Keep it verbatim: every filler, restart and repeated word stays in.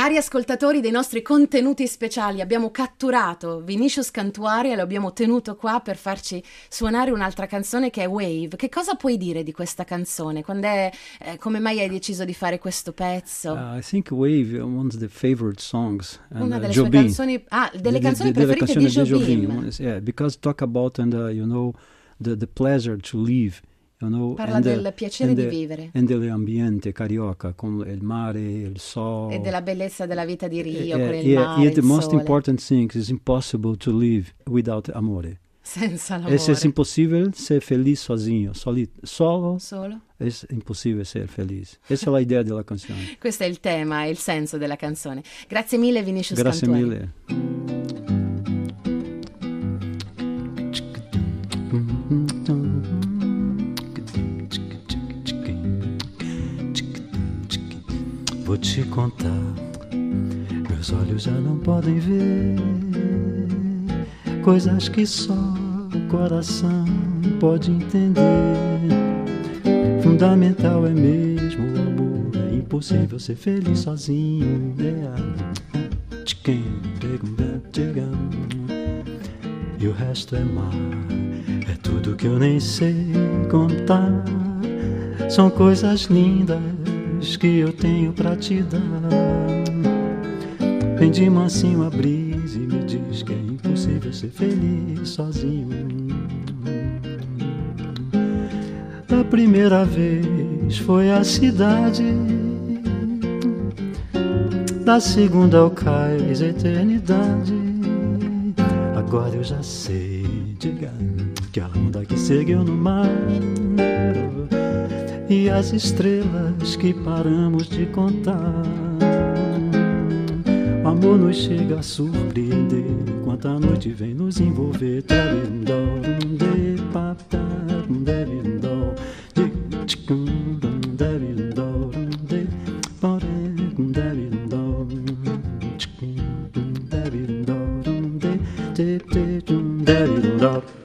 Cari ascoltatori dei nostri contenuti speciali, abbiamo catturato Vinicius Cantuaria e lo abbiamo tenuto qua per farci suonare un'altra canzone che è Wave. Che cosa puoi dire di questa canzone? Quando è, eh, come mai hai deciso di fare questo pezzo? Uh, I think Wave is one of the favorite songs. And, Una delle uh, sue Jobim. canzoni, ah, delle De- canzoni de- preferite delle di canzoni Jobim. Yeah, because talk about and uh, you know the the pleasure to live. You know, Parla and del the, piacere and di the, vivere. E dell'ambiente carioca, con il mare, il sole. E della bellezza della vita di Rio, Uh, con il yeah, mare, yeah, il the most sole. important thing is impossible to live without amore. Senza l'amore. E se è impossibile ser feliz sozinho, soli, solo, Solo? è impossibile ser feliz. Questa è l'idea della canzone. Questo è il tema e il senso della canzone. Grazie mille Vinicius Grazie Cantuaria. mille. Vou te contar, meus olhos já não podem ver coisas que só o coração pode entender. Fundamental é mesmo o amor, é impossível ser feliz sozinho. E o resto é mar, é tudo que eu nem sei contar. São coisas lindas que eu tenho pra te dar. Vem de mansinho a brisa e me diz que é impossível ser feliz sozinho. Da primeira vez foi a cidade, da segunda ao cais a eternidade. Agora eu já sei, diga, que a onda que seguiu no mar e as estrelas que paramos de contar. O amor nos chega a surpreender enquanto a noite vem nos envolver. Daddy,